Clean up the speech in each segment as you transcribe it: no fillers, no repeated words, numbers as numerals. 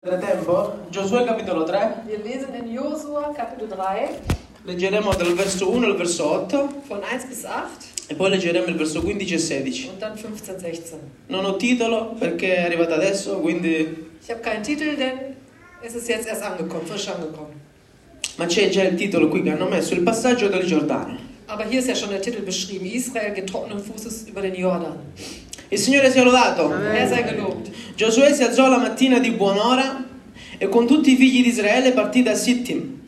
Tempo, Giosuè capitolo 3, Wir lesen in Josua Kapitel 3 leggeremo dal verso 1 al verso 8 von 1 bis 8 e poi leggeremo il verso 15 e 16. und dann 15, 16. Non ho titolo perché è arrivato adesso, quindi... Ich habe keinen Titel, denn es ist jetzt erst angekommen, frisch angekommen. Ma c'è già il titolo qui che hanno messo, il passaggio del Giordano. Aber hier ist ja schon der Titel beschrieben. Israel geht trockenen Fußes über den Jordan. Il Signore sia lodato. Er sei gelobt. Giosuè si alzò la mattina di buon'ora e con tutti i figli di Israele partì da Sittim.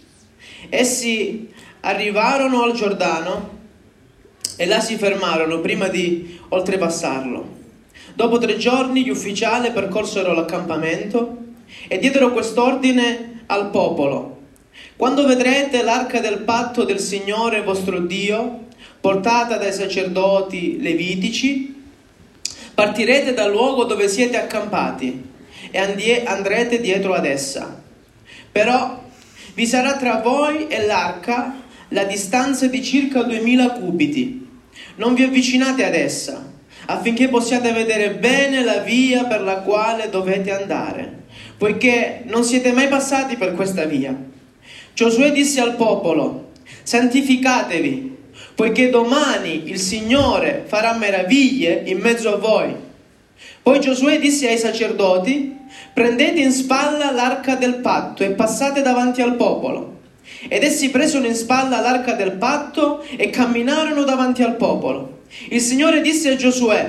Essi arrivarono al Giordano e là si fermarono prima di oltrepassarlo. Dopo 3 giorni gli ufficiali percorsero l'accampamento e diedero quest'ordine al popolo: quando vedrete l'arca del patto del Signore vostro Dio portata dai sacerdoti levitici, partirete dal luogo dove siete accampati e andrete dietro ad essa. Però vi sarà tra voi e l'arca la distanza di circa 2000 cubiti. Non vi avvicinate ad essa, affinché possiate vedere bene la via per la quale dovete andare, poiché non siete mai passati per questa via. Giosuè disse al popolo: santificatevi, poiché domani il Signore farà meraviglie in mezzo a voi. Poi Giosuè disse ai sacerdoti: prendete in spalla l'arca del patto e passate davanti al popolo. Ed essi presero in spalla l'arca del patto e camminarono davanti al popolo. Il Signore disse a Giosuè: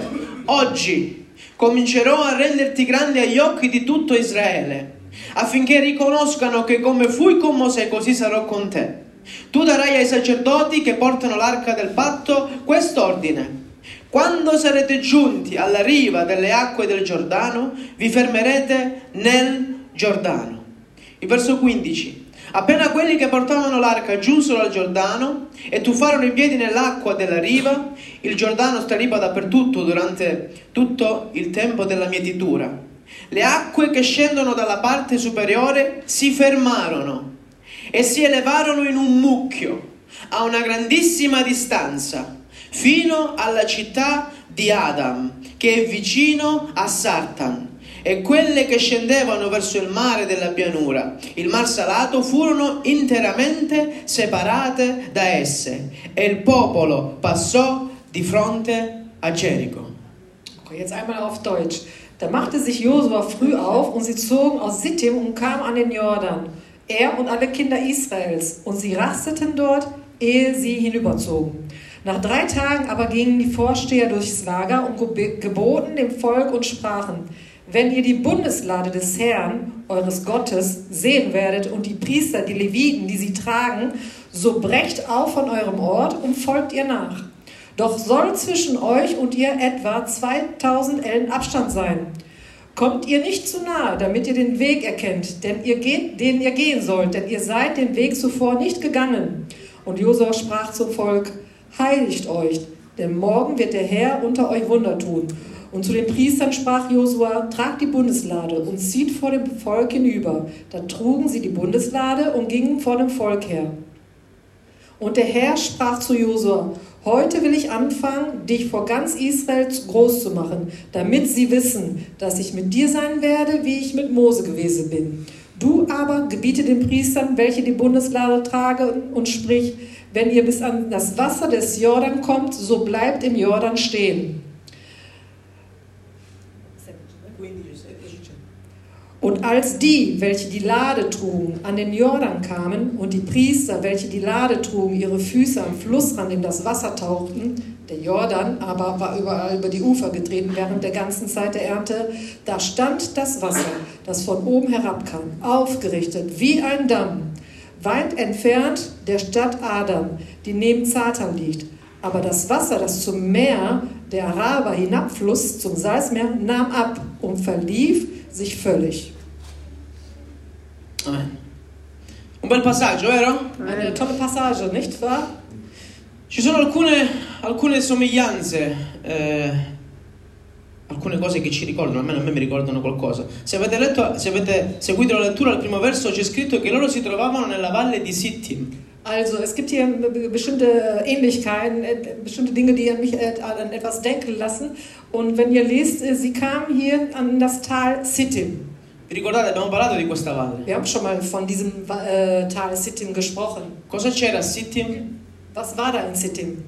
oggi comincerò a renderti grande agli occhi di tutto Israele, affinché riconoscano che come fui con Mosè così sarò con te. Tu darai ai sacerdoti che portano l'arca del patto quest'ordine: quando sarete giunti alla riva delle acque del Giordano, vi fermerete nel Giordano. Il verso 15. Appena quelli che portavano l'arca giunsero al Giordano e tuffarono i piedi nell'acqua della riva, il Giordano stariva dappertutto durante tutto il tempo della mietitura. Le acque che scendono dalla parte superiore si fermarono e si elevarono in un mucchio a una grandissima distanza, fino alla città di Adam, che è vicino a Sartan, e quelle che scendevano verso il mare della pianura, il mar salato, furono interamente separate da esse, e il popolo passò di fronte a Gerico. Okay, jetzt einmal auf Deutsch. Da machte sich Josua früh auf und sie zogen aus Sittim und kamen an den Jordan, er und alle Kinder Israels, und sie rasteten dort, ehe sie hinüberzogen. Nach 3 Tagen aber gingen die Vorsteher durchs Lager und geboten dem Volk und sprachen: wenn ihr die Bundeslade des Herrn, eures Gottes, sehen werdet und die Priester, die Leviten, die sie tragen, so brecht auf von eurem Ort und folgt ihr nach. Doch soll zwischen euch und ihr etwa 2000 Ellen Abstand sein. Kommt ihr nicht zu nahe, damit ihr den Weg erkennt, den ihr gehen sollt, denn ihr seid den Weg zuvor nicht gegangen. Und Josua sprach zum Volk: heiligt euch, denn morgen wird der Herr unter euch Wunder tun. Und zu den Priestern sprach Josua: tragt die Bundeslade und zieht vor dem Volk hinüber. Da trugen sie die Bundeslade und gingen vor dem Volk her. Und der Herr sprach zu Josua: heute will ich anfangen, dich vor ganz Israel groß zu machen, damit sie wissen, dass ich mit dir sein werde, wie ich mit Mose gewesen bin. Du aber gebiete den Priestern, welche die Bundeslade tragen, und sprich: wenn ihr bis an das Wasser des Jordan kommt, so bleibt im Jordan stehen. Und als die, welche die Lade trugen, an den Jordan kamen und die Priester, welche die Lade trugen, ihre Füße am Flussrand in das Wasser tauchten, der Jordan aber war überall über die Ufer getreten während der ganzen Zeit der Ernte, da stand das Wasser, das von oben herabkam, aufgerichtet wie ein Damm, weit entfernt der Stadt Adam, die neben Zartan liegt. Aber das Wasser, das zum Meer der Araber hinabfloss, zum Salzmeer, nahm ab und verlief sich völlig. Amen. Un bel passaggio, vero? Eine tolle Passage, nicht wahr? Ci sono alcune somiglianze, alcune cose che ci ricordano, almeno a me mi ricordano qualcosa. Se avete seguito la lettura, al primo verso c'è scritto che loro si trovavano nella valle di Sittim. Also es gibt hier bestimmte Ähnlichkeiten, bestimmte Dinge, die mich an etwas denken lassen. Und wenn ihr lest, sie kamen hier an das Tal Sittim. Vi ricordate, abbiamo parlato di questa valle. Wir haben schon mal von diesem Tal Sittim gesprochen. Cosa c'era a Sittim? Was war da in Sittim?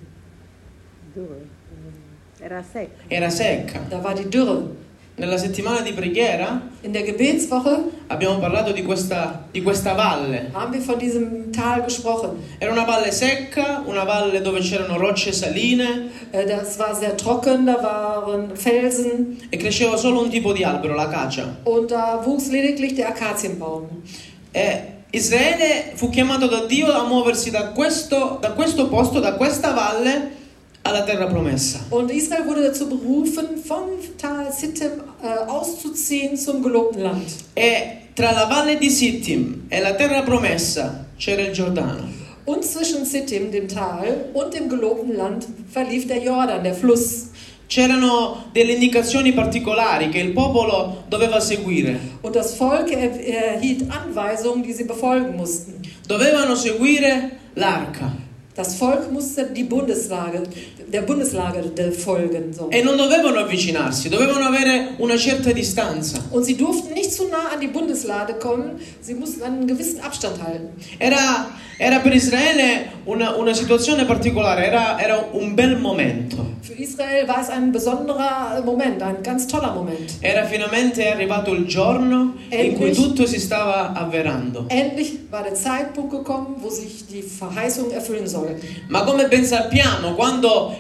Era secca. Era secca. Da war die Dürre. Nella settimana di preghiera In der Gebetswoche abbiamo parlato di questa valle. haben wir von diesem Tal gesprochen. Era una valle secca, una valle dove c'erano rocce saline Das war sehr trocken, da waren Felsen e cresceva solo un tipo di albero, l'acacia. und da wuchs lediglich der Akazienbaum. E Israele fu chiamato da Dio a muoversi da questo posto, da questa valle, alla terra promessa. Und Israel wurde dazu berufen, vom Tal Sittim auszuziehen zum gelobten Land. E tra la valle di Sittim e la terra promessa c'era il Giordano. Und zwischen Sittim, dem Tal, und dem gelobten Land verlief der Jordan, der Fluss. C'erano delle indicazioni particolari che il popolo doveva seguire. Und das Volk erhielt Anweisungen, die sie befolgen mussten. Dovevano seguire l'arca. Das Volk musste der Bundeslage folgen. So. E non dovevano avvicinarsi, dovevano avere una certa distanza. Und sie durften nicht zu nah an die Bundeslade kommen, sie mussten einen gewissen Abstand halten. Era per Israele una situazione particolare, era un bel momento. Für Israel war es ein besonderer Moment, ein ganz toller Moment. Era finalmente arrivato il giorno in cui Endlich. tutto si stava avverando. Endlich war der Zeitpunkt gekommen, wo sich die Verheißungen erfüllen sollten. Ma come ben sappiamo, quando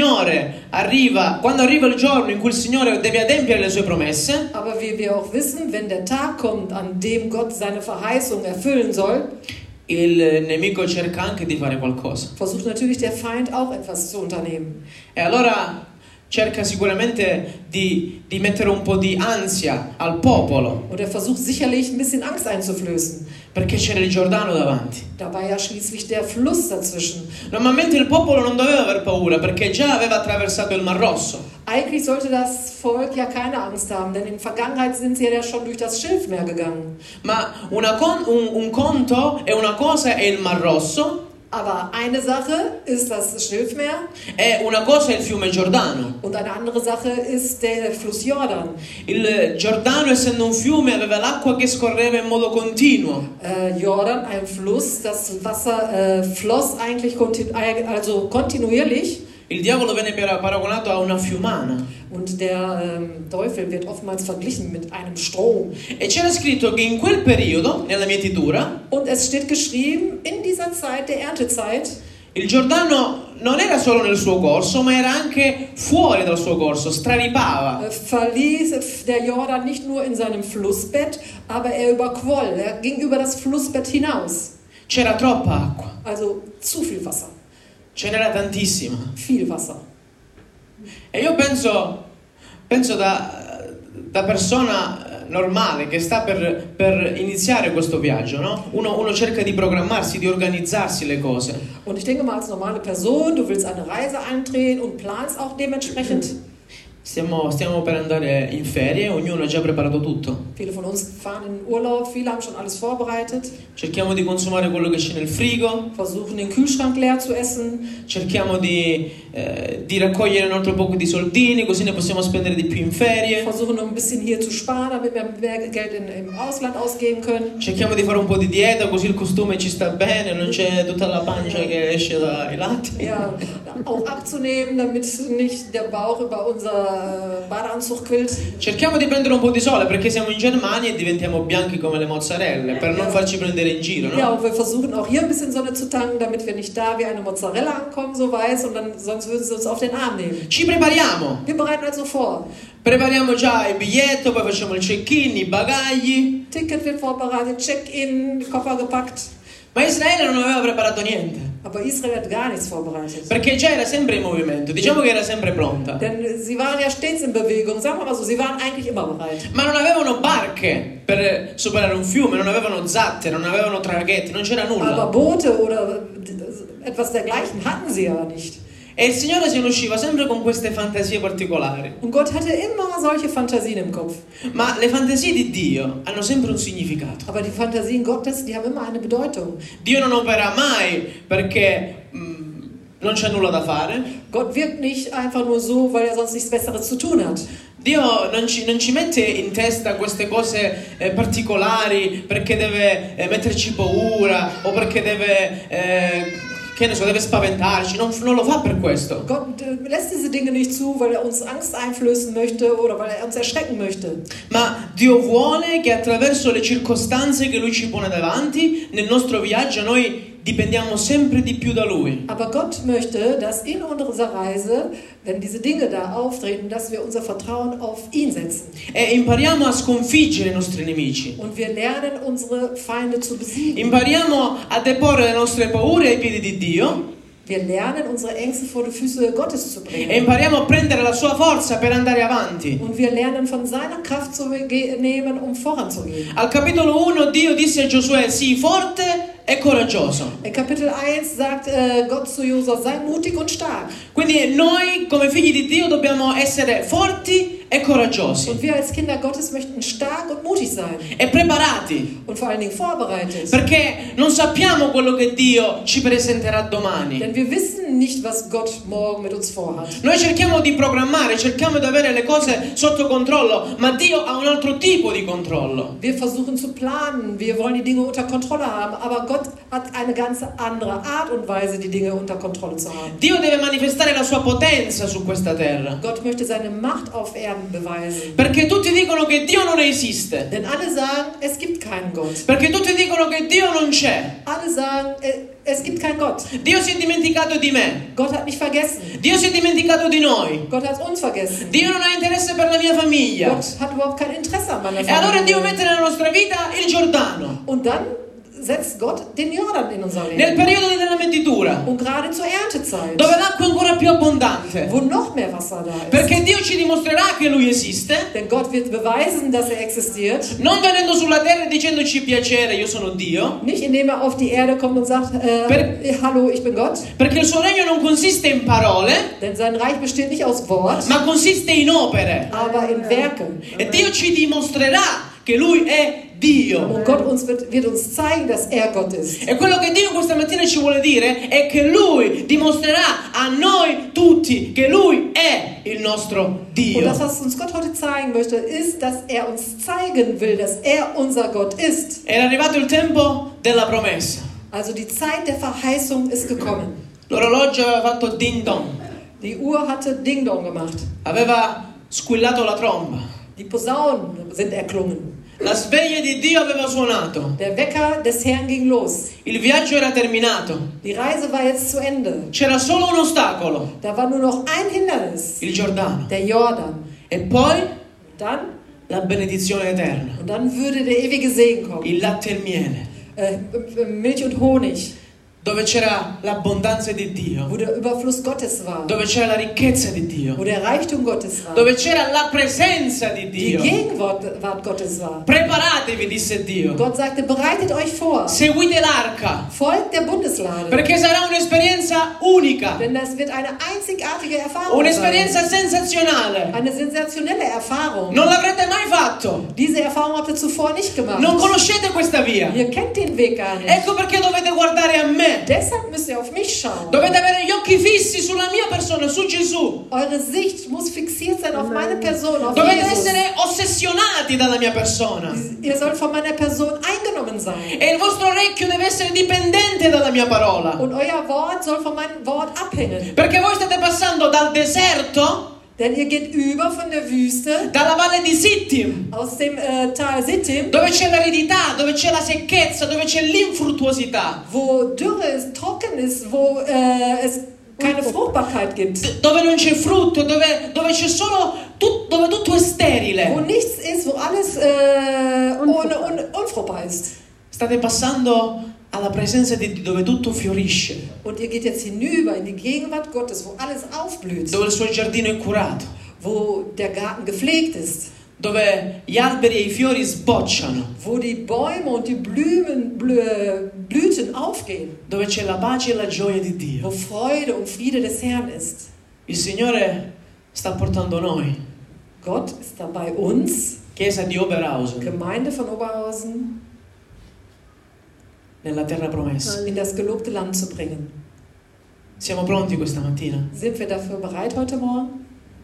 arriva il giorno in cui il Signore deve adempiere le sue promesse, Aber wie wir auch wissen, wenn der Tag kommt, an dem Gott seine Verheißung erfüllen soll, il nemico cerca anche di fare qualcosa. versucht natürlich der Feind auch etwas zu unternehmen. E allora cerca sicuramente di mettere un po' di ansia al popolo, Und er versucht sicherlich ein bisschen Angst einzuflößen. perché c'era il Giordano davanti. Da war ja schließlich der Fluss dazwischen. Normalmente il popolo non doveva aver paura perché già aveva attraversato il Mar Rosso. Eigentlich sollte das Volk ja keine Angst haben, denn in Vergangenheit sind sie ja schon durch das Schilfmeer gegangen. Ma un conto e una cosa è il Mar Rosso Aber eine Sache ist das Schilfmeer e una cosa è il fiume Giordano. und eine andere Sache ist der Fluss Jordan. Il Giordano, essendo un fiume, aveva l'acqua che scorreva in modo continuo. Jordan, ein Fluss, das Wasser floss eigentlich kontinuierlich. Il diavolo venne paragonato a una fiumana. Und der Teufel wird oftmals verglichen mit einem Strom. E c'era scritto che in quel periodo, nella mietitura, Und es steht geschrieben, in dieser Zeit, der Erntezeit, il Giordano non era solo nel suo corso, ma era anche fuori dal suo corso, straripava. verließ der Jordan nicht nur in seinem Flussbett, aber er überquoll, er ging über das Flussbett hinaus. C'era troppa acqua, Also zu viel Wasser, ce n'era tantissima. viel Wasser. E io penso da persona normale che sta per iniziare questo viaggio, no? Uno cerca di programmarsi, di organizzarsi le cose. Und ich denke mal, als normale Person, du willst eine Reise antreten und planst auch dementsprechend. Stiamo per andare in ferie, ognuno ha già preparato tutto. Viele von uns fahren in Urlaub, viele haben schon alles vorbereitet, Cerchiamo di consumare quello che c'è nel frigo, versuchen den Kühlschrank leer zu essen, cerchiamo di raccogliere un altro poco di soldini, così ne possiamo spendere di più in ferie. versuchen noch ein bisschen hier zu sparen, damit wir mehr Geld im Ausland ausgeben können. Cerchiamo di fare un po' di dieta, così il costume ci sta bene, non c'è tutta la pancia che esce dai lati. Ja, auch abzunehmen, damit nicht der Bauch über unser Badeanzug quillt. Cerchiamo di prendere un po' di sole perché siamo in Germania e diventiamo bianchi come le mozzarelle, per non farci prendere in giro, no? Ja, und wir versuchen auch hier ein bisschen Sonne zu tanken, damit wir nicht da wie eine Mozzarella ankommen, so weiß, und dann sonst würden sie uns auf den Arm nehmen. Ci prepariamo, Wir bereiten also vor. prepariamo già il biglietto, poi facciamo il check-in, i bagagli. Ticket wird vorbereitet, Check-in, Koffer gepackt. Ma Israele non aveva preparato niente, Aber Israel hat gar nichts vorbereitet. perché già era sempre in movimento, diciamo che era sempre pronta. Denn sie waren ja stets in Bewegung, sagen wir mal so, sie waren eigentlich immer bereit. Ma non avevano barche per superare un fiume, non avevano zatte, non avevano traghetti, non c'era Aber nulla. Boote oder etwas dergleichen hatten sie ja nicht. E il Signore se ne usciva sempre con queste fantasie particolari. Und Gott hatte immer solche Fantasien im Kopf. Ma le fantasie di Dio hanno sempre un significato. Aber die Fantasien Gottes, die haben immer eine Bedeutung. Dio non opera mai perché non c'è nulla da fare. Gott wirkt nicht einfach nur so, weil er sonst nichts Besseres zu tun hat. Dio non ci mette in testa queste cose particolari perché deve metterci paura o perché deve, che ne so, deve spaventarci. Non lo fa per questo. Gott lässt diese Dinge nicht zu, weil er uns Angst einflößen möchte oder weil er uns erschrecken möchte. Ma Dio vuole che attraverso le circostanze che Lui ci pone davanti, nel nostro viaggio noi dipendiamo sempre di più da Lui. Aber Gott möchte, dass in unserer Reise, wenn diese Dinge da auftreten, dass wir unser Vertrauen auf ihn setzen. E impariamo a sconfiggere i nostri nemici. Und wir lernen, unsere Feinde zu besiegen. Impariamo a deporre le nostre paure ai piedi di Dio. Wir lernen, unsere Ängste vor die Füße Gottes zu bringen. E impariamo a prendere la sua forza per andare avanti. Und wir lernen, von seiner Kraft zu nehmen, um voranzugehen. Al capitolo 1 Dio disse a Giosuè: sii forte e coraggioso. In Kapitel 1 sagt Gott zu Josua, sei mutig und stark. Quindi noi come figli di Dio dobbiamo essere forti e coraggiosi Und wir als Kinder Gottes möchten stark und mutig sein. e preparati, Und vor allen Dingen vorbereitet. perché non sappiamo quello che Dio ci presenterà domani. Denn wir wissen nicht, was Gott morgen mit uns vorhat. Noi cerchiamo di programmare, cerchiamo di avere le cose sotto controllo, ma Dio ha un altro tipo di controllo. Wir versuchen zu planen, wir wollen die Dinge unter Kontrolle haben, aber Gott hat eine ganz andere Art und Weise, die Dinge unter Kontrolle zu haben. Dio deve manifestare la sua potenza su questa terra, Gott möchte seine Macht auf Erden beweisen. perché tutti dicono che Dio non esiste, Denn alle sagen, es gibt keinen Gott. perché tutti dicono che Dio non c'è. Alle sagen, es gibt keinen Gott. Dio si è dimenticato di me, Gott hat mich vergessen. Dio si è dimenticato di noi, Gott hat uns vergessen. Dio non ha interesse per la mia famiglia. Gott hat überhaupt kein Interesse an meiner E allora Dio Familie. mette nella nostra vita il Giordano, Und dann setzt Gott den Jordan in unser nel Leben. periodo della meditura, Und gerade zur Erntezeit, dove l'acqua è ancora più abbondante, wo noch mehr Wasser da ist. perché Dio ci dimostrerà che Lui esiste, Denn Gott wird beweisen, dass er existiert. non venendo sulla terra e dicendoci piacere, io sono Dio, Nicht indem er auf die Erde kommt und sagt, hallo, ich bin Gott. perché il suo regno non consiste in parole, Denn sein Reich besteht nicht aus Wort, ma consiste in opere. aber in Werken. E Dio ci dimostrerà che Lui è Dio. Und Gott wird uns zeigen, dass er Gott ist. E quello che Dio questa mattina ci vuole dire è che Lui dimostrerà a noi tutti che Lui è il nostro Und Dio. das, was uns Gott heute zeigen möchte, ist, dass er uns zeigen will, dass er unser Gott ist. Era arrivato il tempo della promessa. Also die Zeit der Verheißung ist gekommen. L'orologio aveva fatto ding dong, Die Uhr hatte Ding Dong gemacht. aveva squillato la tromba. Die Posaunen sind erklungen. La sveglia di Dio aveva suonato. Der Wecker des Herrn ging los. Il viaggio era terminato. Die Reise war jetzt zu Ende. C'era solo un ostacolo, Da war nur noch ein Hindernis, il Giordano. der Jordan. E poi Dann, la benedizione eterna, und dann würde der ewige Segen kommen. il latte e il miele, Milch und Honig, dove c'era l'abbondanza di Dio, wo der Überfluss Gottes war, dove c'era la ricchezza di wo Dio, der Reichtum Gottes war, dove c'era la presenza di die Dio. Gegenwart Gottes war. Preparatevi, disse Dio. Gott sagte, bereitet euch vor, Seguite l'arca, folgt der Bundeslade, perché sarà un'esperienza unica, denn das wird eine einzigartige Erfahrung sein. un'esperienza sensazionale. Eine sensationelle Erfahrung. Non l'avrete mai fatto. Diese Erfahrung habt ihr zuvor nicht gemacht. Non conoscete questa via. Ihr kennt den Weg gar nicht. Ecco perché dovete guardare a me. Deshalb müsst ihr auf mich schauen. Dovete avere gli occhi fissi sulla mia persona, su Gesù. Eure Sicht muss fixiert sein auf meine Person, auf Dovete Jesus. essere ossessionati dalla mia persona. Ihr sollt von meiner Person eingenommen sein. E il vostro orecchio deve essere dipendente dalla mia parola. Und euer Wort soll von meinem Wort abhängen. Perché voi state passando dal deserto, Denn ihr geht über von der Wüste dalla valle di Sittim, aus dem Tal Sittim, dove c'è l'aridità, dove c'è la secchezza, dove c'è l'infruttuosità, wo Dürre ist, trocken ist, wo es keine Fruchtbarkeit gibt. dove non c'è frutto, dove c'è solo dove tutto è Wo sterile. nichts ist, wo alles unfruchtbar ist. State passando alla presenza di Dio, dove tutto fiorisce, Und ihr geht jetzt hinüber in die Gegenwart Gottes, wo alles aufblüht, dove il suo giardino è curato, wo der Garten gepflegt ist, dove gli alberi e i fiori sbocciano, wo die Bäume und die Blüten aufgehen, dove c'è la pace e la gioia di wo Dio. Freude und Friede des Herrn ist. Il Signore sta portando noi, Gott ist da bei uns, Chiesa di Oberhausen, Gemeinde von Oberhausen, nella terra promessa. in das gelobte Land zu bringen. Siamo pronti questa mattina? Sind wir dafür bereit heute Morgen?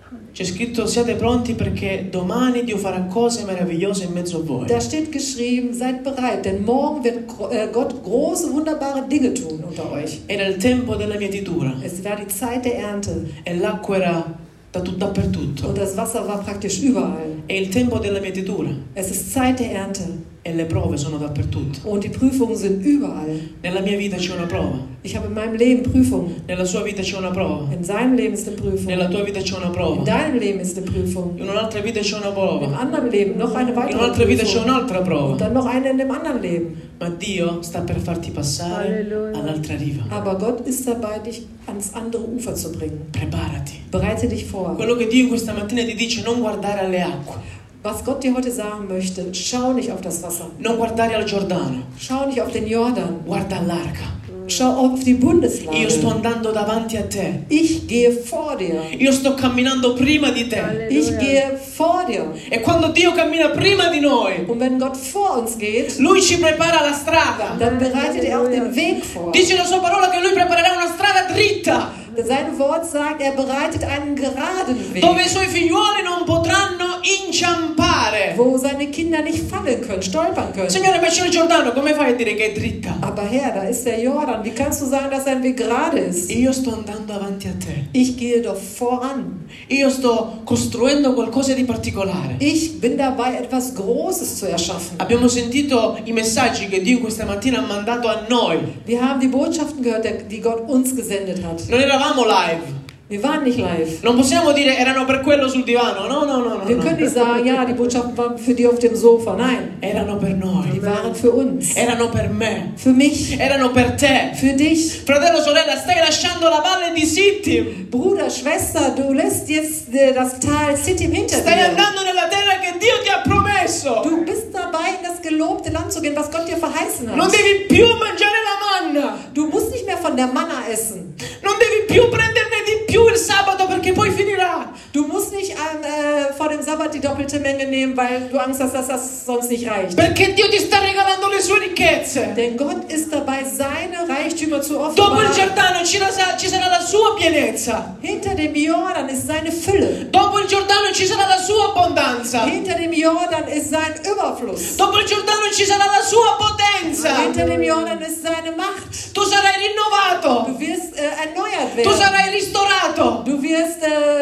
C'è scritto: siate pronti perché domani Dio farà cose meravigliose in mezzo a voi. Da steht geschrieben, seid bereit, denn morgen wird Gott große, wunderbare Dinge tun unter euch. Era il tempo della mietitura Es war die Zeit der Ernte e l'acqua era dappertutto. und das Wasser war praktisch überall. È il tempo della mietitura Es ist Zeit der Ernte e le prove sono dappertutto. und die Prüfungen sind überall. Nella mia vita c'è una prova, Ich habe in meinem Leben Prüfungen. nella sua vita c'è una prova, In seinem Leben ist eine Prüfung. nella tua vita c'è una In prova, deinem Leben ist eine Prüfung. in un'altra vita c'è una Im prova, anderen Leben noch eine in weitere un'altra vita c'è Prüfung. un'altra Und prova. dann noch eine in dem anderen Leben. Ma Dio sta per farti passare Alleluia. all'altra riva. Aber Gott ist dabei, dich ans andere Ufer zu bringen. Preparati. Bereite dich vor. Quello che Dio questa mattina ti dice: non guardare alle acque, Was Gott dir heute sagen möchte, schau nicht auf das Wasser. non guardare al Giordano, Schau nicht auf den Jordan. guarda all'arca. Schau auf die Bundeslade. Io sto andando davanti a te, Ich gehe vor dir. io sto camminando prima di te. Ich Halleluja. gehe vor dir. E quando Dio cammina prima di noi, Und wenn Gott vor uns geht, Lui ci prepara la strada. dann bereitet er auch den Weg vor. Dice la sua parola che Lui preparerà una strada dritta, Sein Wort sagt, er bereitet einen geraden Weg, dove i suoi figliuoli non potranno inciampare. wo seine Kinder nicht fallen können, stolpern können. Signore, ma c'è il Giordano, come fai a dire che è dritta? Aber Herr, da ist der Jordan. Wie kannst du sagen, dass sein Weg gerade ist? Io sto andando avanti a te. Ich gehe doch voran. Io sto costruendo qualcosa di particolare. Ich bin dabei, etwas Großes zu erschaffen. Abbiamo sentito i messaggi che Dio questa mattina ha mandato a noi. Wir haben die Botschaften gehört, die Gott uns gesendet hat. Non eravamo live. Wir waren nicht live. Non possiamo dire erano per quello sul divano. No, no, no, no. Wir können no. nicht sagen, ja, die Botschaften waren für die auf dem Sofa. Nein, Erano per noi. die waren für uns. Erano per me. Für mich. Erano per te. Für dich. Fratello, sorella, stai lasciando la valle di Sittim. Bruder, Schwester, du lässt jetzt das Tal Sittim hinter Stai dir. andando nella terra che Dio ti ha promesso. Du bist dabei, in das gelobte Land zu gehen, was Gott dir verheißen Non hat. devi più mangiare la manna. Du musst nicht mehr von der Manna essen. Non devi più prenderne di più il sabato perché poi finirà. Du musst nicht vor dem Sabbat die doppelte Menge nehmen, weil du Angst hast, dass das sonst nicht reicht. Perché Dio ti sta regalando le sue ricchezze. Denn Gott ist dabei, seine Reichtümer zu Dopo il offenbaren. Giordano ci sarà la sua pienezza. Hinter dem Jordan ist seine Fülle. Dopo il Giordano ci sarà la sua abbondanza. Hinter dem Jordan ist sein Überfluss. Dopo il Giordano ci sarà la sua potenza. Hinter dem Jordan ist seine Macht. Tu sarai rinnovato. Du wirst erneuert Tu werden. sarai ristorato. Du wirst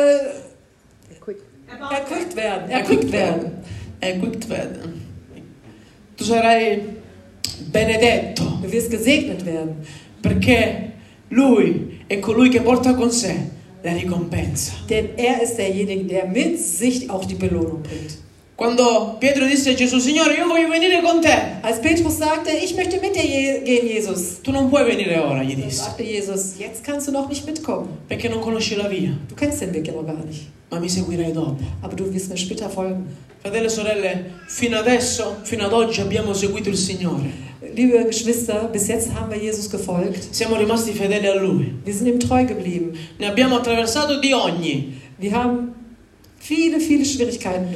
Quick. erquickt werden. Erquickt werden. Equipped werden. Tu sarai benedetto. Du wirst gesegnet werden. Perché Lui è colui che porta con sé la ricompensa. Denn er ist derjenige, der mit sich auch die Belohnung bringt. Quando Pietro disse a Gesù: Signore, io voglio venire con te. Als Petrus sagte, ich möchte mit dir gehen, Jesus, Tu non puoi venire ora, gli dann disse, sagte Jesus, jetzt kannst du noch nicht mitkommen. perché non conosci la via, Du kennst den Weg ja noch gar nicht. ma mi seguirai dopo. Aber du wirst mir später folgen. Fratelli e sorelle, fino adesso, fino ad oggi abbiamo seguito il Signore. Liebe Geschwister, bis jetzt haben wir Jesus gefolgt. Siamo rimasti fedeli a Lui. Wir sind ihm treu geblieben. Ne abbiamo attraversato di ogni. Wir haben viele Schwierigkeiten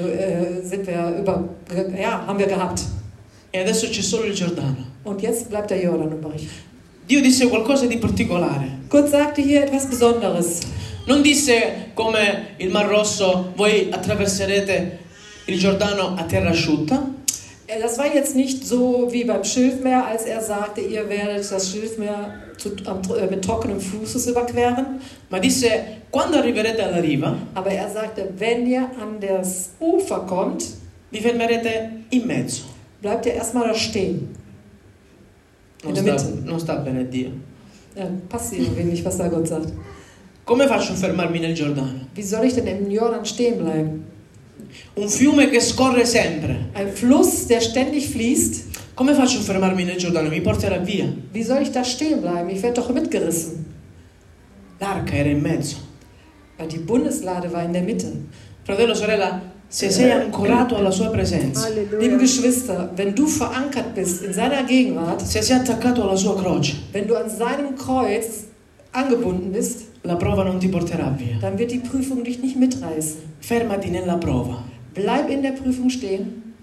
haben wir gehabt. E adesso c'è solo il Giordano. Und jetzt bleibt der Jordan übrig. Dio disse qualcosa di particolare. Gott sagte hier etwas Besonderes. Non disse come il Mar Rosso, voi attraverserete il Giordano a terra asciutta. Das war jetzt nicht so wie beim Schilfmeer, als er sagte, ihr werdet das Schilfmeer mit trockenem Fußes überqueren. Ma disse, quando arriverete alla riva, Aber er sagte, wenn ihr an das Ufer kommt, vi fermerete in mezzo. bleibt ihr erstmal da stehen. Non In der sta, Mitte. non sta bene Dio. Ja, passt irgendwie nicht, was da Gott sagt. Come faccio a fermarmi nel Giordano? Wie soll ich denn im Jordan stehen bleiben? Un fiume che scorre sempre. Ein Fluss, der ständig fließt. Come faccio a fermarmi nel Giordano? Mi porterà via. Wie soll ich da stehen bleiben? Ich werde doch mitgerissen. L'arca era in mezzo. Weil die Bundeslade war in der Mitte. Fratello, sorella, se sei ancorato alla sua presenza, Liebe Halleluja. Geschwister, wenn du verankert bist in seiner Gegenwart, se sei attaccato alla sua croce, wenn du an seinem Kreuz angebunden bist, la prova non ti porterà via. dann wird die Prüfung dich nicht mitreißen. Fermati nella prova. Bleib in der Prüfung stehen.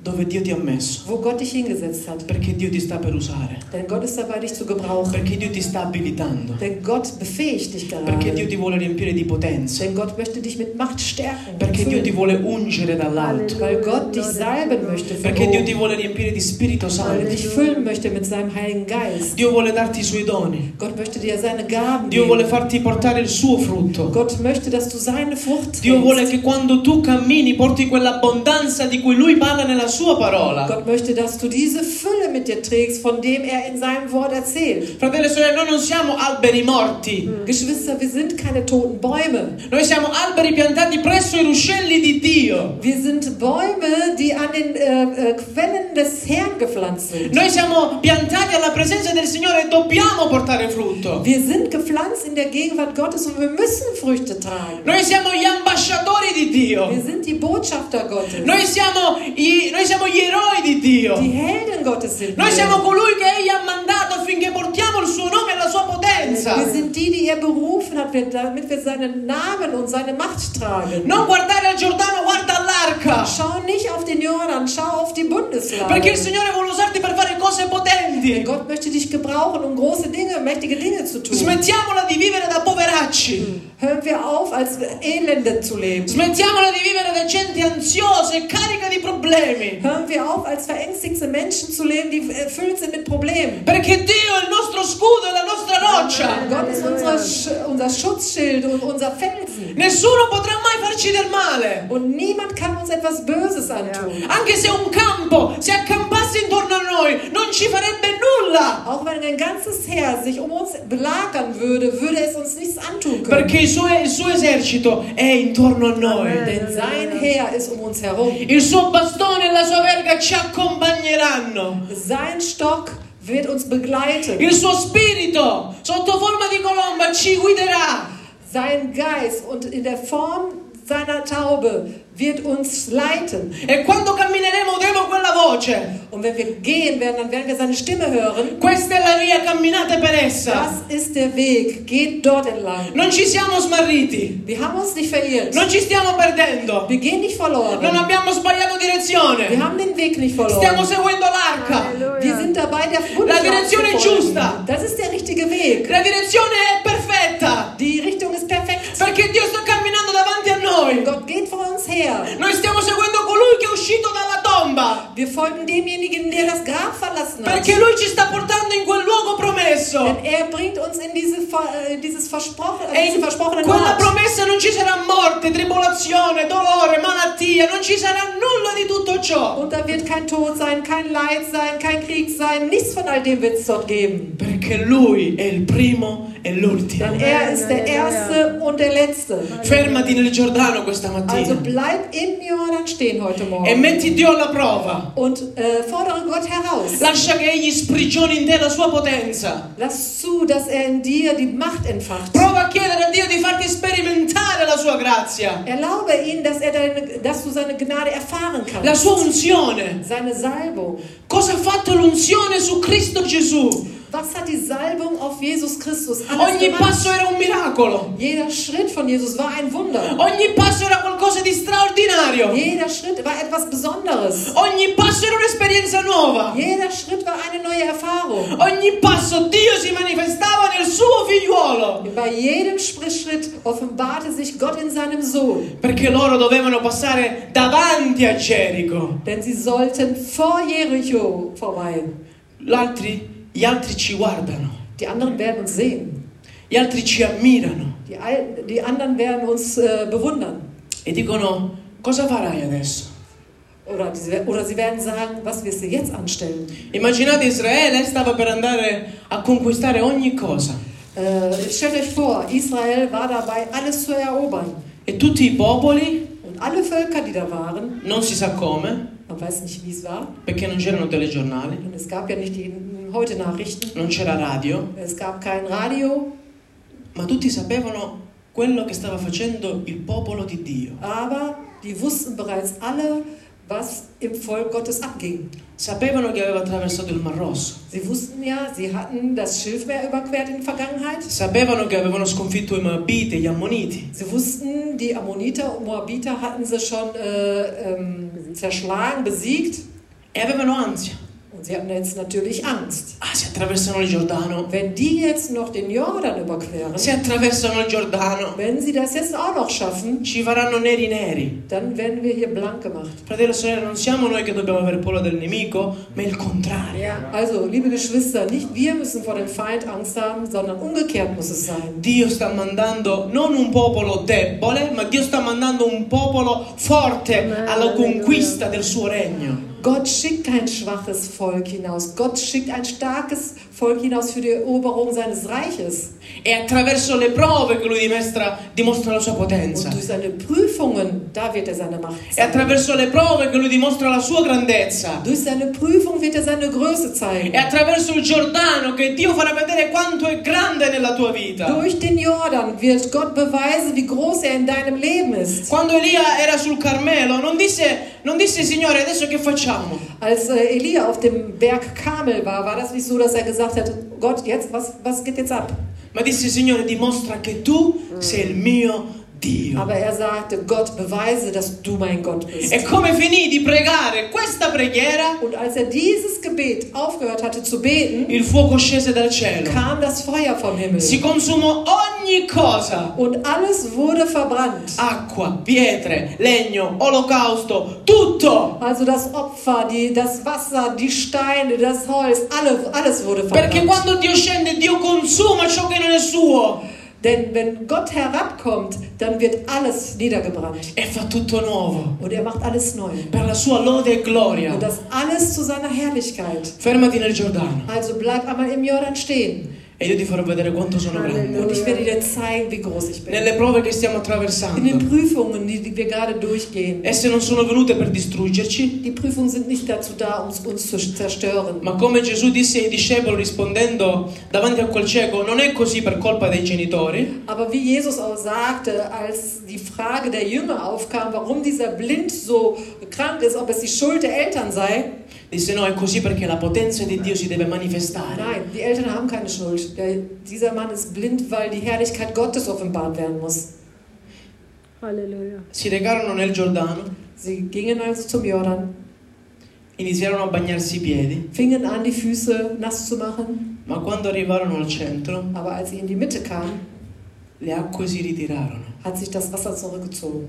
dove Dio ti ha messo, wo Gott dich hingesetzt hat. perché Dio ti sta per usare, Denn Gott ist dabei, dich zu gebrauchen. perché Dio ti sta abilitando, Denn Gott befähigt dich perché Dio gerade. ti vuole riempire di potenza, Denn Gott möchte dich mit Macht stärken. perché Dio ti füllen. vuole ungere dall'alto, Weil Gott dich salben möchte von perché Dio ti oben. vuole riempire di Spirito Weil er Santo. dich füllen möchte mit seinem Heiligen Geist. Dio vuole darti i suoi doni, Gott möchte dir seine Gaben Dio vuole geben. farti portare il suo frutto. Gott möchte, dass du seine Frucht Dio vuole trägst. che quando tu cammini porti quell'abbondanza di cui Lui parla nella sua parola. Gott möchte, dass du diese Fülle mit dir trägst, von dem er in seinem Wort erzählt. Fratelli e sorelle, noi non siamo alberi morti, Geschwister, wir sind keine toten Bäume. noi siamo alberi piantati presso i ruscelli di Dio. Wir sind Bäume, die an den Quellen des Herrn gepflanzt sind. Noi siamo piantati alla presenza del Signore e dobbiamo portare frutto. Wir sind gepflanzt in der Gegenwart Gottes und wir müssen Früchte tragen. Noi siamo gli ambasciatori di Dio. Wir sind die Botschafter Gottes. Noi siamo gli eroi di Dio. Die Helden Gottes sind Noi siamo wir. colui che Egli ha mandato affinché portiamo il suo nome e la sua potenza. Wir sind die er berufen hat, damit wir seinen Namen und seine Macht tragen. Non guardare al Giordano, guarda all'arca. Schau nicht auf den Jordan, schau auf die Bundeslade. Perché il Signore vuole usarti per fare cose potenti. Gott möchte dich gebrauchen, um große Dinge, mächtige Dinge zu tun. Smettiamola di vivere da poveracci. Hören wir auf, als Elende zu leben. Smettiamola di vivere da gente ansiosa e carica di problemi. Hören wir auf, als verängstigte Menschen zu leben, die erfüllt sind mit Problemen. Perché Dio è il nostro scudo e la nostra roccia. Gott ist unser Schutzschild und unser Felsen. Nessuno potrà mai farci del male. Und niemand kann uns etwas Böses antun. Anche se un campo si accampasse intorno a noi, non ci farebbe nulla. Auch wenn ein ganzes Heer sich um uns belagern würde, würde es uns nichts antun können. Perché il suo esercito è intorno a noi. Denn sein Heer ist um uns herum. Il suo bastone e la sua verga ci accompagneranno. Sein Stock wird uns begleiten. Il suo spirito, sotto forma di colomba, ci guiderà. Sein Geist und in der Form seiner Taube wird uns leiten. E quando cammineremo udremo quella voce. Und wenn wir gehen werden, dann werden wir seine Stimme hören. Questa è la via, camminate per essa. Das ist der Weg. Geht dort entlang. Non ci siamo smarriti. Wir haben uns nicht verirrt. Non ci stiamo perdendo. Wir gehen nicht verloren. Non abbiamo sbagliato Wir direzione. haben den Weg nicht Stiamo verloren. seguendo l'arca. Wir sind dabei, der La direzione è Bundeslade zu giusta. folgen. Das ist der richtige Weg. La direzione è perfetta. Die Richtung ist perfekt. Perché Dio sta camminando davanti a noi. Gott geht vor uns her. Noi stiamo seguendo colui che è uscito dalla tomba. Wir folgen demjenigen, der das Grab verlassen hat. Perché lui ci sta portando in quel luogo promesso. Denn er bringt uns in diese versprochene Quella Ort. promessa non ci sarà morte, tribolazione, dolore, malattia, non ci sarà nulla di tutto ciò. Und da wird kein Tod sein, kein Leid sein, kein Krieg sein. Nichts von all dem wird es dort geben. Perché lui è il primo e l'ultimo. Denn er ist der Erste und der Letzte. Fermati nel Giordano questa Also mattina bleib im Jordan stehen heute e Morgen. metti Dio alla prova. Und fordere Gott heraus. Lascia che egli sprigioni in te la sua potenza. Lass zu, dass er in dir die Macht entfacht. Prova a chiedere a Dio di farti sperimentare la sua grazia, Erlaube ihm, dass du seine Gnade erfahren la kannst. sua unzione. Seine Salbung. Cosa ha fatto l'unzione su Cristo Gesù? Was hat die Salbung auf Jesus Christus alles Ogni gemacht? passo era un miracolo. Jeder Schritt von Jesus war ein Wunder. Ogni passo era qualcosa di straordinario. Jeder Schritt war etwas Besonderes. Ogni passo era un'esperienza nuova. Jeder Schritt war eine neue Erfahrung. Ogni passo Dio si manifestava nel suo figliuolo. Bei jedem Schritt offenbarte sich Gott in seinem Sohn. Perché loro dovevano passare davanti a Gerico. Denn sie sollten vor Jericho vorbei. Gli altri ci guardano. Die anderen werden uns sehen. Gli altri ci ammirano. Die anderen werden uns bewundern. E dicono, cosa farai adesso? Oder sie werden sagen, was wirst du jetzt anstellen? Immaginate Israele stava per andare a conquistare ogni cosa. Stellt euch vor, Israel war dabei, alles zu erobern. E tutti i popoli, Und alle Völker, die da waren, non si sa come, man weiß nicht, wie es war. perché non c'erano telegiornali, Und es gab ja nicht die heute Nachrichten. non c'era radio, Es gab kein Radio. ma tutti sapevano quello che stava facendo il popolo di Dio. Aber die wussten bereits alle, was im Volk Gottes abging. Sapevano che aveva attraversato il Mar Rosso. Sie wussten ja, sie hatten das Schilfmeer überquert in der Vergangenheit. Sapevano che avevano sconfitto i Moabiti, gli Ammoniti. Sie wussten, die Ammoniter und Moabiter hatten sie schon zerschlagen, besiegt. e avevano ansia. Und sie hatten jetzt natürlich Angst. Se attraversano il Giordano, Wenn die jetzt noch den Jordan überqueren, se attraversano il Giordano, wenn sie das jetzt auch noch schaffen, ci faranno neri. dann werden wir hier blank gemacht. Fratello e sorella, non siamo noi che dobbiamo avere paura del nemico, ma il contrario. Ja, also, liebe Geschwister, nicht wir müssen vor dem Feind Angst haben, sondern umgekehrt muss es sein. Dio sta mandando non un popolo debole, ma Dio sta mandando un popolo forte alla conquista del suo regno. Gott schickt kein schwaches Volk hinaus. Gott schickt ein starkes Volk hinaus für die Eroberung seines Reiches. E attraverso le prove che lui dimostra la sua potenza. Und durch seine Prüfungen, da wird seine Macht E zeigen. attraverso le prove che lui dimostra la sua grandezza. Durch seine Prüfung wird seine Größe E zeigen. attraverso il Giordano che Dio farà vedere quanto è grande nella tua vita. Durch den Jordan wird Gott beweisen, wie groß in deinem Leben ist. Quando Elia era sul Carmelo non disse Signore adesso che facciamo? Als Elia auf dem Berg Karmel war das nicht so, dass er gesagt hat, Gott, jetzt, was geht jetzt ab? Ma disse Signore dimostra che tu sei il mio Dio. Aber er sagte, Gott, beweise, dass du mein Gott bist. E come finì di pregare questa preghiera, Und als er dieses Gebet aufgehört hatte zu beten, il fuoco scese dal cielo. kam das Feuer vom Himmel. Si consumò ogni cosa. Und alles wurde verbrannt. Acqua, pietre, legno, olocausto, tutto. Also das Opfer, das Wasser, die Steine, das Holz, alles wurde Perché verbrannt. quando Dio scende, Dio consuma ciò che non è suo. Denn wenn Gott herabkommt, dann wird alles niedergebrannt. E fa tutto nuovo. Und er macht alles neu. Per la sua lode e gloria. Und das alles zu seiner Herrlichkeit. Fermati nel Giordano. Also bleib einmal im Jordan stehen. E io ti farò vedere quanto sono grande. Und ich werde dir zeigen, wie groß ich bin. Nelle prove che stiamo In den attraversando. Prüfungen, die wir gerade durchgehen. Esse non sono venute per distruggerci, Die Prüfungen sind nicht dazu da, uns zu zerstören. ma come Gesù disse ai discepoli rispondendo davanti a quel cieco, non è così per colpa dei genitori, Aber wie Jesus auch sagte, als die Frage der Jünger aufkam, warum dieser Blind so krank ist, ob es die Schuld der Eltern sei, disse no, è così perché la potenza di Dio si deve manifestare. nein, die Eltern haben keine Schuld. Dieser Mann ist blind, weil die Herrlichkeit Gottes offenbart werden muss. Halleluja. Si recarono nel Giordano, Sie gingen also zum Jordan, iniziarono a bagnarsi i piedi, fingen an, die Füße nass zu machen, ma quando arrivarono al centro, aber als sie in die Mitte kamen, le acque si ritirarono. hat sich das Wasser zurückgezogen.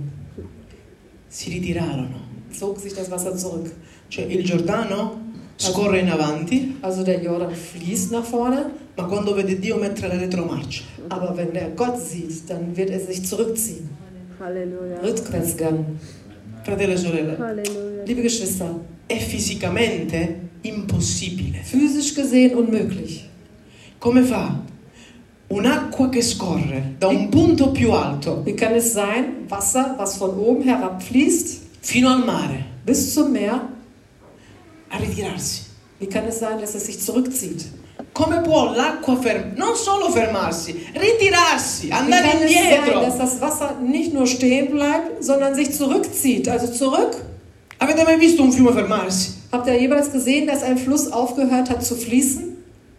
Si ritirarono. Zog sich das Wasser zurück. Cioè il Giordano scorre in avanti, Also der Jordan fließt nach vorne, ma quando vede Dio mettere le retromarce. aber wenn er Gott sieht, dann wird er sich zurückziehen. Halleluja. Rückwärtsgang. Fratello e sorelle, Halleluja. Liebe Geschwister, è fisicamente impossibile. physisch gesehen unmöglich. Come fa un'acqua che scorre da un punto più alto Wie kann es sein, Wasser, was von oben herabfließt, fino al mare bis zum Meer, a ritirarsi? wie kann es sein, dass es sich zurückzieht? Come può l'acqua non solo fermarsi, ritirarsi, Wie andare kann es sein, indietro? dass das Wasser nicht nur stehen bleibt, sondern sich zurückzieht, also zurück? Avete mai visto un fiume fermarsi? Habt ihr jemals gesehen, dass ein Fluss aufgehört hat zu fließen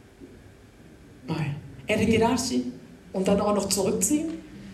Mai. E ritirarsi? und dann auch noch zurückziehen?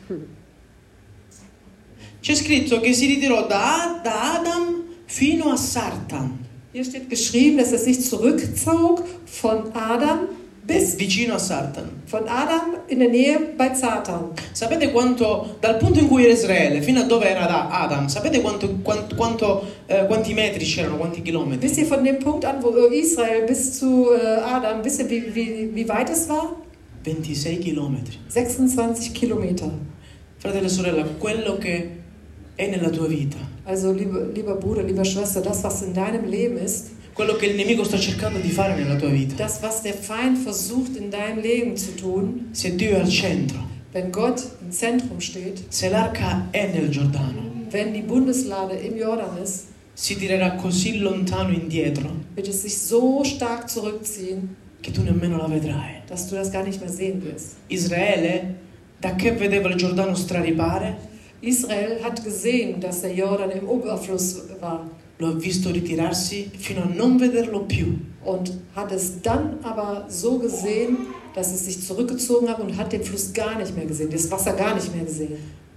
C'è scritto che si ritirò da Adam fino a Sartan, Hier steht geschrieben, dass es sich zurückzog von Adam vicino a Sartan. von Adam in der Nähe bei Satan. Sapete quanto, dal punto in cui era Israele fino a dove era Adam, sapete quanti metri c'erano, quanti chilometri? Wisst ihr von dem Punkt an, wo Israel bis zu Adam, wisst ihr, wie weit es war? 26 chilometri. 26 Kilometer. Fratello e sorella, quello che è nella tua vita, Also, lieber Bruder, lieber Schwester, das, was in deinem Leben ist, quello che il nemico sta cercando di fare nella tua vita, das, was der Feind versucht in deinem Leben zu tun, se Dio è al centro, wenn Gott im Zentrum steht, se l'arca è nel Giordano, wenn die Bundeslade im Jordan ist, si tirerà così lontano indietro wird es sich so stark zurückziehen, che tu nemmeno la vedrai. dass du das gar nicht mehr sehen wirst. Israele, da che vedeva il Giordano straripare, Israel hat gesehen, dass der Jordan im Überfluss war lo ha visto ritirarsi fino a non vederlo più. und hat es dann aber so gesehen, dass es sich zurückgezogen hat und hat den Fluss gar nicht mehr gesehen, das Wasser gar nicht mehr gesehen.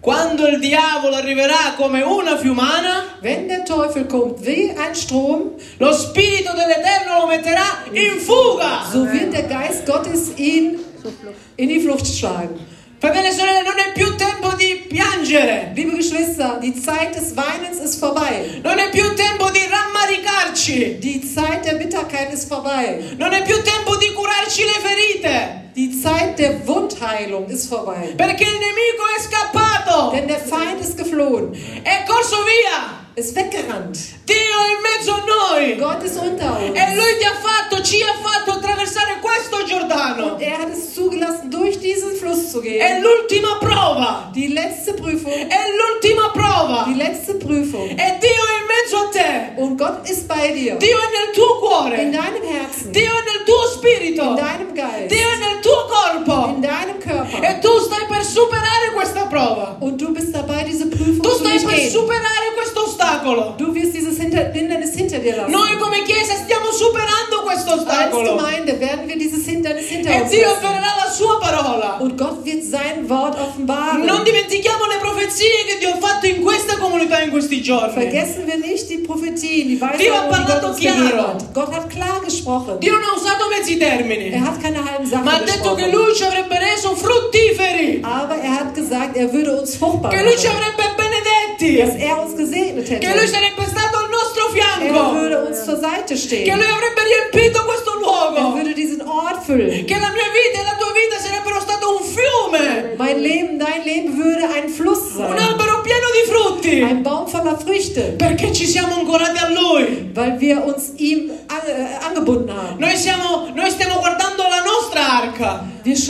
Quando il diavolo arriverà come una fiumana, Wenn der Teufel kommt wie ein Strom, lo Spirito dell'Eterno lo metterà in fuga. so wird der Geist Gottes ihn in die Flucht schlagen. Fratelli e sorelle, non è più tempo di piangere. Liebe Geschwister, die Zeit des Weinens ist vorbei. Non è più tempo di rammaricarci. Die Zeit der Bitterkeit ist vorbei. Non è più tempo di curarci le ferite. Die Zeit der Wundheilung ist vorbei. Perché il nemico è scappato. Denn der Feind ist geflohen, È corso via. ist weggerannt. Dio è in mezzo a noi. Gott ist unter uns. E Lui ci ha fatto attraversare questo Giordano. Und er hat es zugelassen, durch diesen Fluss zu È gehen. l'ultima prova. Die letzte Prüfung. È l'ultima prova. Die letzte Prüfung. E Dio è in mezzo a te. Und Gott ist bei dir. Dio è nel tuo In cuore. deinem Herzen. Dio è nel tuo spirito. In deinem Geist. Dio è nel tuo corpo. In deinem Körper. E tu stai per superare questa prova. Und du bist dabei, diese Prüfung Tu zu stai per durchgehen. superare questo ostacolo. Du wirst dieses Hindernis hinter dir lassen. Noi come Chiesa stiamo superando questo Als ostacolo. Gemeinde werden wir dieses Hindernis hinter E uns Dio lassen. avvererà la sua parola. Und Gott wird sein Wort offenbaren. Non dimentichiamo le profezie che Dio ha fatto in questa comunità in questi giorni. Vergessen wir nicht die Prophetien, die Dio ha Weisungen, die Gott parlato uns gegeben chiaro. hat. Gott hat klar gesprochen. Dio non ha usato mezzi termini, Er hat keine halben Sachen ma ha detto che gesprochen. Lui ci avrebbe reso fruttiferi, Aber er hat gesagt, er würde uns fruchtbar che Lui ci machen. avrebbe benedetti, Dass er uns gesegnet che Lui hätte. sarebbe stato al nostro Er fianco, würde uns zur Seite che stehen. Lui avrebbe riempito questo Er luogo, würde diesen Ort füllen. che la mia vita e la tua vita sarebbero stato un fiume, Mein Leben, dein Leben würde ein Fluss un sein. albero pieno di frutti, Ein Baum voller Früchte. perché ci siamo ancorati a Lui. Weil wir uns ihm angebunden haben. Noi stiamo guardando la nostra arca.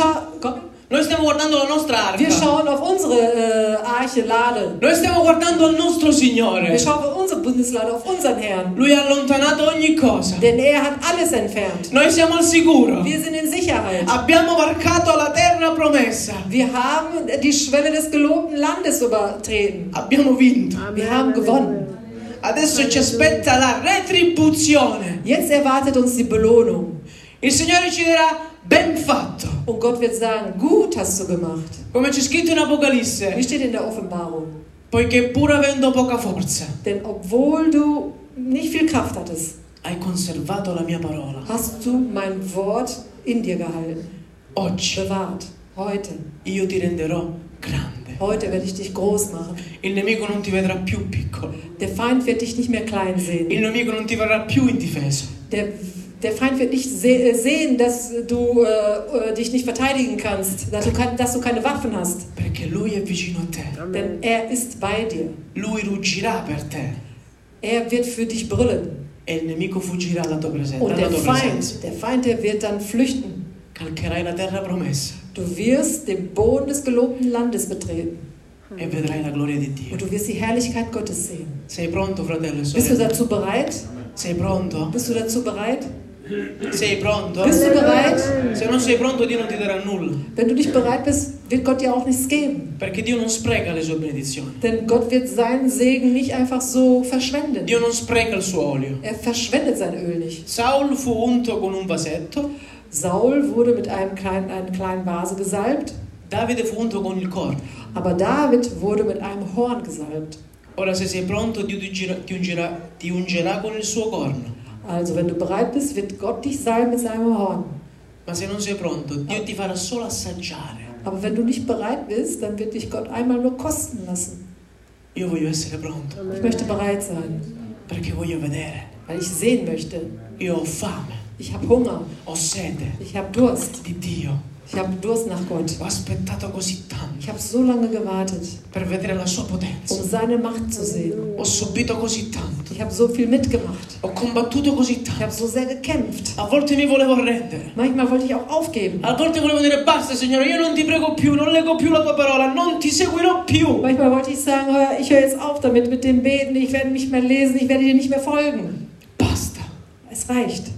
Noi stiamo guardando la nostra Wir arca. schauen auf unsere Arche Lade. Noi stiamo guardando al nostro Wir Signore. schauen auf unsere Bundeslade, auf unseren Herrn. Lui ha allontanato ogni cosa. Denn er hat alles entfernt. Noi siamo al sicuro. Wir sind in Sicherheit. Abbiamo varcato la terra promessa. Wir haben die Schwelle des gelobten Landes übertreten. Abbiamo vinto. Wir haben gewonnen. Adesso ci aspetta la retribuzione. Jetzt erwartet uns die Belohnung. Il Signore ci dirà ben fatto. Und Gott wird sagen, gut hast du gemacht. Come c'è scritto in Wie Apocalisse. steht in der Offenbarung? Poiché pur avendo poca forza, Denn obwohl du nicht viel Kraft hattest, hai conservato la mia parola. hast du mein Wort in dir gehalten. Oggi Bewahrt. Heute. io ti renderò grande. Heute werde ich dich groß machen. Il nemico non ti vedrà più piccolo. Der Feind wird dich nicht mehr klein sehen. Il nemico non ti verrà più indifeso. Der Feind wird nicht sehen, dass du dich nicht verteidigen kannst, dass du keine Waffen hast. Perché lui è vicino a te. Denn er ist bei dir. Lui ruggirà per te. Er wird für dich brüllen. E il nemico fuggirà dalla tua presenza. Und Dalla tua presenza. der Feind, der wird dann flüchten. Calcherai la terra promessa Du wirst den Boden des gelobten Landes betreten. e vedrai la gloria di Dio. Und du wirst die Herrlichkeit Gottes sehen. Sei pronto, fratello e Bist du sorella? dazu bereit? Sei pronto? Bist du dazu bereit? Sei pronto? Bist du bereit? Se non sei pronto, Dio non ti darà nulla. Wenn du nicht bereit bist, wird Gott dir auch nichts geben. Perché Dio non spreca le sue benedizioni. Denn Gott wird seinen Segen nicht einfach so verschwenden. Dio non spreca il suo olio. Er verschwendet sein Öl nicht. Saul fu unto con un vasetto, Saul wurde mit einer kleinen Vase gesalbt, Davide fu unto con il corno. aber David wurde mit einem Horn gesalbt. Ora se sei pronto, Dio ti ungerà con il suo corno. Also wenn du bereit bist, wird Gott dich salben mit seinem Horn. Ma se non sei pronto, Dio ti farà solo assaggiare. Aber wenn du nicht bereit bist, dann wird dich Gott einmal nur kosten lassen. Io voglio essere pronto, Ich möchte bereit sein, perché voglio vedere. weil ich sehen möchte. Io ho fame, Ich habe Hunger, ho sete ich habe Durst, di Dio. ich habe Durst nach Gott. Ho aspettato così tanto Ich habe so lange gewartet, per vedere la sua potenza. seine Macht zu sehen. Ho subito così tanto. Ich habe so viel mitgemacht. Ho combattuto così Ich tanto. habe so sehr gekämpft. A volte mi volevo arrendere. Manchmal wollte ich auch aufgeben. A volte volevo dire basta Signore, io non ti prego più, non leggo più la tua parola, non ti seguirò più. Manchmal wollte ich sagen, ich höre jetzt auf damit mit dem Beten, ich werde nicht mehr lesen, ich werde dir nicht mehr folgen. Basta. Es reicht.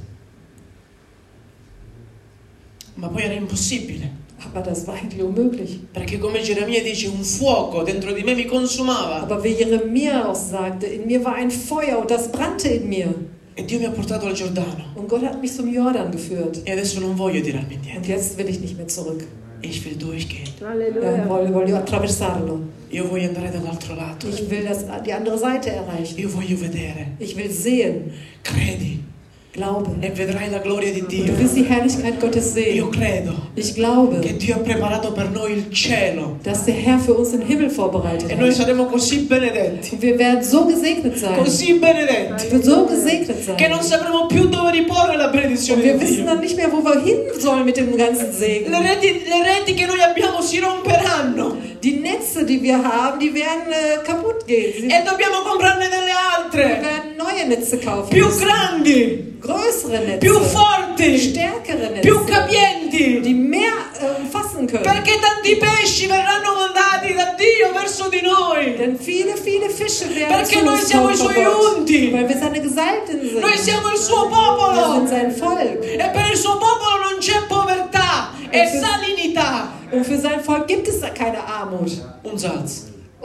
Ma poi era impossibile. Aber das war eigentlich unmöglich. Perché come Geremia dice, un fuoco dentro di me mi consumava. Aber wie Jeremia auch sagte, in mir war ein Feuer und das brannte in mir. E Dio mi ha portato al Giordano. Und Gott hat mich zum Jordan geführt. E adesso non voglio tirarmi Und indietro. jetzt will ich nicht mehr zurück. Ich will durchgehen. Alleluia. Voglio attraversarlo. Io voglio andare dall'altro lato. Ich will die andere Seite erreichen. Io voglio vedere. Ich will sehen. Credi Glaube. e vedrai la gloria di Und Dio. du wirst die Herrlichkeit Gottes Io sehen. credo Ich glaube, che Dio ha preparato per noi il cielo dass der Herr für uns den Himmel vorbereitet e noi hat. saremo così benedetti, Und wir werden so gesegnet sein. così benedetti, Wir so gesegnet che sein. non sapremo più dove riporre la benedizione Und wir di wissen Dio. dann nicht mehr, wo wir hin sollen mit dem ganzen Segen. Le reti che noi abbiamo si romperanno Die Netze, die wir haben, die werden kaputt gehen. Sie e dobbiamo comprarne delle wir altre, werden neue Netze kaufen più müssen. grandi, Größere Netze. più forti, Stärkere Netze. più capienti, Die mehr fassen können. perché tanti pesci verranno mandati da Dio verso di noi. Denn viele Fische werden Perché zu noi uns siamo kommen i von suoi Gott. unti. Weil wir seine Gesalbten sind. Noi siamo il suo Wir popolo sind sein Volk. e per il suo popolo non c'è povertà e salinità. Und für sein Volk gibt es da keine Armut Un Salz.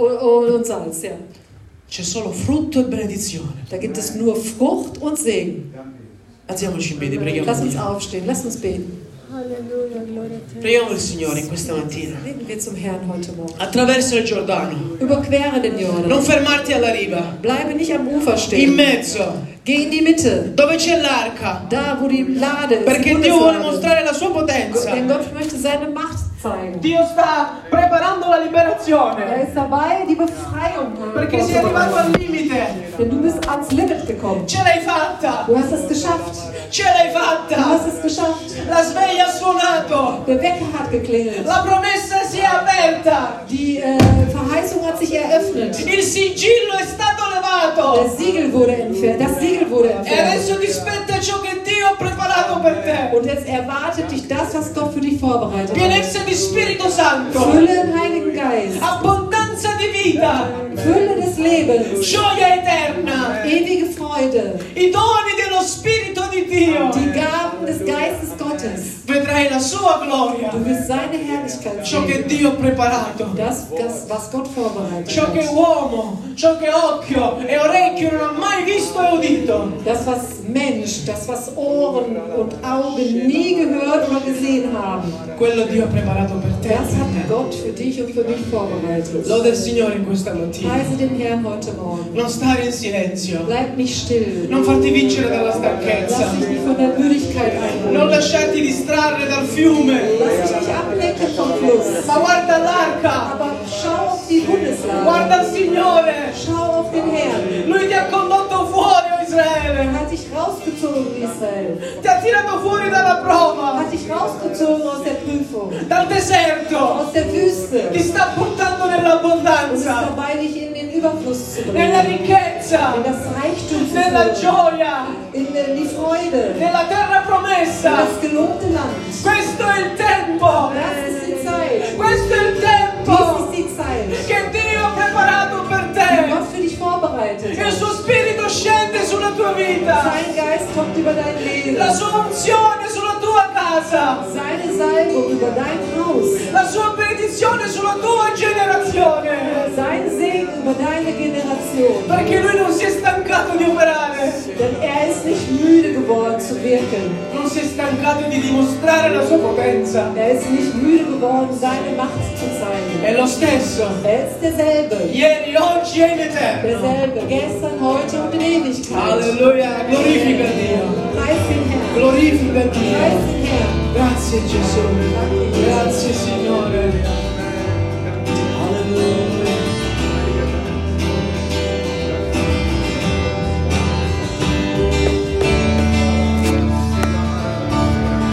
und Salz. Ja. C'è solo frutto e benedizione. Da gibt es nur Frucht und Segen. Alziamoci in piedi, preghiamo Lass uns Dio. aufstehen, lass uns beten. Alleluia, gloria a te. Preghiamo il Signore in questa mattina. Beten wir zum Herrn heute Morgen. Attraverso il Giordano. Überquere den Jordan. Non fermarti alla riva. Bleibe nicht am Ufer In stehen. mezzo, Geh in die Mitte. dove c'è l'arca. Da, wo die Lade ist. Perché die Dio vuole Bundeslade. mostrare la sua potenza. Denn Gott möchte seine Macht zeigen. Dio sta preparando la liberazione. Er ist dabei, die Befreiung Perché sei arrivato al limite. Denn du bist ans Limit gekommen. Ce l'hai fatta. Du hast es geschafft. Ce l'hai Du fatta. hast es geschafft. La sveglia ha suonato. Der Wecker hat geklingelt. La promessa si è aperta. Die Verheißung hat sich eröffnet. Il sigillo è stato Das levato. Siegel wurde entfernt. Das Siegel wurde E entfernt. adesso ti spetta ciò che Dio ha preparato per te. Und jetzt erwartet dich das, was Gott für dich vorbereitet hat. Pienezza di Spirito Santo. Fülle im Heiligen Geist. Abbondanza di vita. Fülle des Lebens. Gioia eterna. Ewige Freude. I doni dello Spirito di Dio. Die Gaben des Geistes Gottes. Vedrai la sua gloria. Du wirst seine Herrlichkeit Ciò che sehen. Dio ha preparato. Das, was Gott vorbereitet Ciò che hat. uomo, ciò che occhio e orecchio non ha mai visto e udito. Das, was Mensch, das, was Ohren und Augen nie gehört oder gesehen haben. Quello Dio ha preparato per te. Das hat Gott für dich und für mich vorbereitet. Lode il Signore in questa mattina. Preise den Herrn heute Morgen. Non stare in silenzio. Bleib nicht still. Non farti vincere dalla Lass stanchezza. dich nicht von der Müdigkeit Non einholen. lasciarti distrarre dal fiume. Lass dich nicht ablenken vom Fluss. Ma guarda l'arca. Aber schau auf die Bundeslade. Guarda il Signore. Schau auf den Herrn. Lui ti ha condotto fuori, o Er Israele. hat dich rausgezogen, Israel. Ti ha tirato fuori dalla Er prova, hat dich rausgezogen aus der Prüfung. dal deserto. Aus der Wüste. Ti sta portando Und ist nell'abbondanza, dabei, dich in den Überfluss zu nella bringen. ricchezza, In das Reichtum zu nella führen. gioia, In die Freude. nella terra In promessa. das gelobte Land. Questo è il tempo. Das ist die Zeit. Questo è il Dies tempo ist die Zeit, che Dio ha preparato per die te. Gott für dich vorbereitet Il hat. suo spirito scende sulla tua vita. Sein Geist kommt über dein Leben. La sua unzione sulla tua casa. Seine Salbung über dein Haus. La sua benedizione sulla tua generazione. Sein Segen über deine Generation. Perché lui non si è stancato di operare. Denn er ist nicht müde geworden zu wirken. Non si è stancato di dimostrare la sua potenza. Er ist nicht müde geworden, seine Macht zu zeigen. È lo stesso. Er ist derselbe. Ieri, oggi e in eterno. Derselbe. Gestern, heute und in Ewigkeit. Alleluia. Glorifica Dio. Preis den Herrn. Glorifica Preis Dio. den Herrn. Grazie Gesù. Grazie Signore.